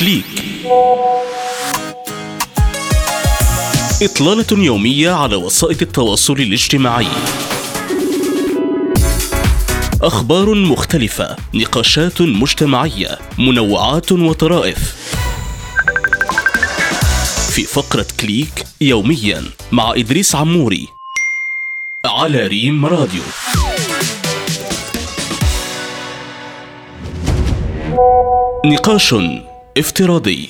كليك. إطلالة يومية على وسائل التواصل الاجتماعي. أخبار مختلفة، نقاشات مجتمعية، منوعات وطرائف. في فقرة كليك يوميا مع إدريس عموري على ريم راديو. نقاش افتراضي.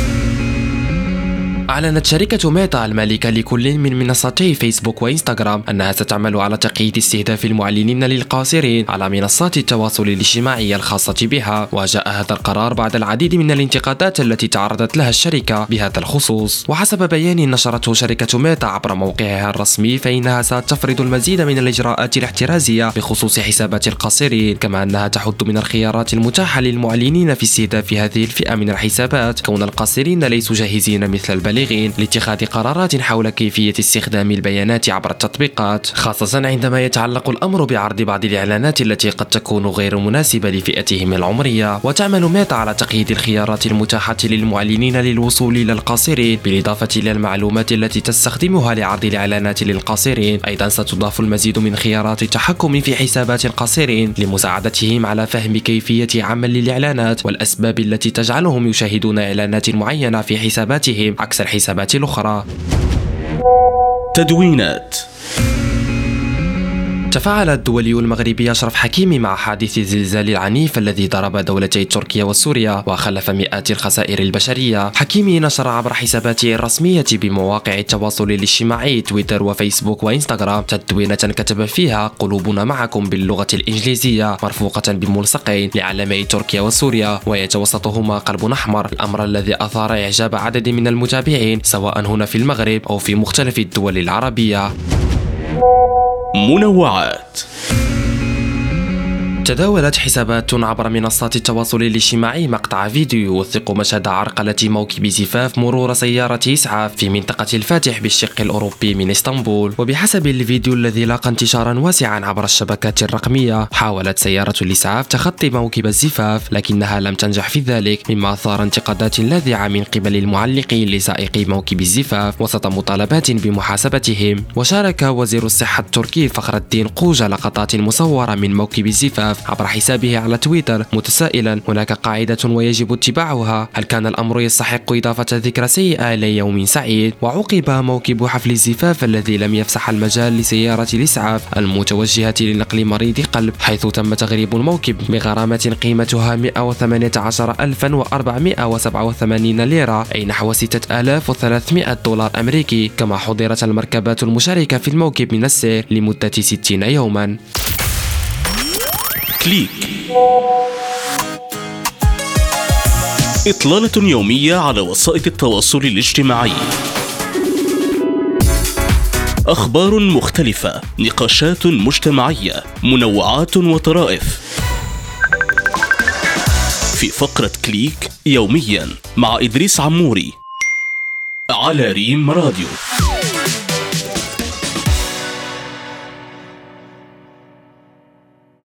أعلنت شركة ميتا المالكة لكل من منصتي فيسبوك وإنستغرام أنها ستعمل على تقييد استهداف المعلنين للقاصرين على منصات التواصل الاجتماعي الخاصة بها، وجاء هذا القرار بعد العديد من الانتقادات التي تعرضت لها الشركة بهذا الخصوص. وحسب بيان نشرته شركة ميتا عبر موقعها الرسمي، فإنها ستفرض المزيد من الإجراءات الاحترازية بخصوص حسابات القاصرين، كما أنها تحد من الخيارات المتاحة للمعلنين في استهداف هذه الفئة من الحسابات، كون القاصرين ليسوا جاهزين مثل البالغين لاتخاذ قرارات حول كيفية استخدام البيانات عبر التطبيقات، خاصة عندما يتعلق الأمر بعرض بعض الإعلانات التي قد تكون غير مناسبة لفئتهم العمرية. وتعمل ميتا على تقييد الخيارات المتاحة للمعلنين للوصول إلى القاصرين، بالإضافة إلى المعلومات التي تستخدمها لعرض الإعلانات للقاصرين. أيضا ستضاف المزيد من خيارات التحكم في حسابات القاصرين لمساعدتهم على فهم كيفية عمل الإعلانات والأسباب التي تجعلهم يشاهدون إعلانات معينة في حساباتهم عكس الحسابات الأخرى. تدوينات. تفاعل الدولي المغربي أشرف حكيمي مع حادث الزلزال العنيف الذي ضرب دولتي تركيا وسوريا وخلف مئات الخسائر البشرية. حكيمي نشر عبر حساباته الرسمية بمواقع التواصل الاجتماعي تويتر وفيسبوك وإنستغرام تدوينة كتب فيها: قلوبنا معكم باللغة الإنجليزية، مرفوقة بملصقين لعلمي تركيا وسوريا ويتوسطهما قلب أحمر، الأمر الذي أثار إعجاب عدد من المتابعين سواء هنا في المغرب أو في مختلف الدول العربية. منوعات. تداولت حسابات عبر منصات التواصل الاجتماعي مقطع فيديو يوثق مشهد عرقلة موكب زفاف مرور سيارة إسعاف في منطقة الفاتح بالشق الأوروبي من اسطنبول. وبحسب الفيديو الذي لاقى انتشارا واسعا عبر الشبكات الرقمية، حاولت سيارة الإسعاف تخطي موكب الزفاف لكنها لم تنجح في ذلك، مما أثار انتقادات لاذعة من قبل المعلقين لسائقي موكب الزفاف وسط مطالبات بمحاسبتهم. وشارك وزير الصحة التركي فخر الدين قوجة لقطات مصورة من موكب الزفاف عبر حسابه على تويتر متسائلا: هناك قاعدة ويجب اتباعها، هل كان الأمر يستحق إضافة ذكرى سيئة ليوم سعيد؟ وعوقب موكب حفل الزفاف الذي لم يفسح المجال لسيارة الإسعاف المتوجهة لنقل مريض قلب، حيث تم تغريب الموكب بغرامة قيمتها 118,487 ليرة، أي نحو 6300 دولار أمريكي، كما حضرت المركبات المشاركة في الموكب من السير لمدة 60 يوما. كليك. إطلالة يومية على وسائل التواصل الاجتماعي. أخبار مختلفة، نقاشات مجتمعية، منوعات وطرائف. في فقرة كليك يوميا مع إدريس عموري على ريم راديو.